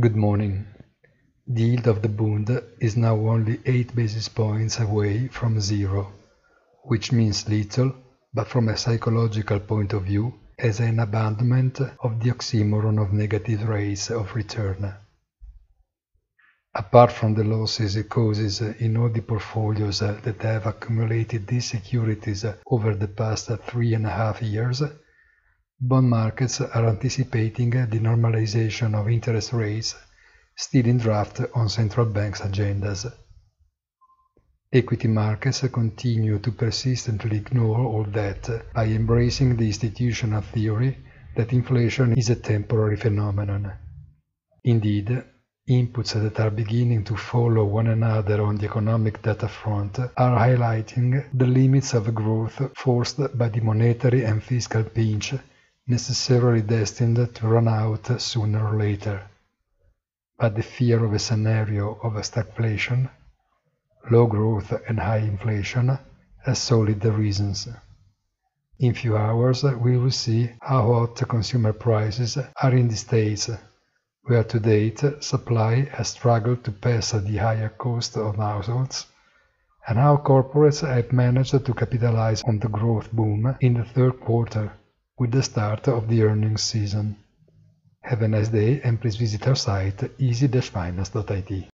Good morning. The yield of the Bund is now only 8 basis points away from zero, which means little, but from a psychological point of view, as an abandonment of the oxymoron of negative rates of return. Apart from the losses it causes in all the portfolios that have accumulated these securities over the past 3.5 years, bond markets are anticipating the normalization of interest rates still in draft on central banks' agendas. Equity markets continue to persistently ignore all that by embracing the institutional theory that inflation is a temporary phenomenon. Indeed, inputs that are beginning to follow one another on the economic data front are highlighting the limits of growth forced by the monetary and fiscal pinch necessarily destined to run out sooner or later. But the fear of a scenario of stagflation, low growth and high inflation has solid reasons. In few hours we will see how hot consumer prices are in the States, where to date supply has struggled to pass the higher cost of households, and how corporates have managed to capitalize on the growth boom in the third quarter with the start of the earnings season. Have a nice day and please visit our site easy-finance.it.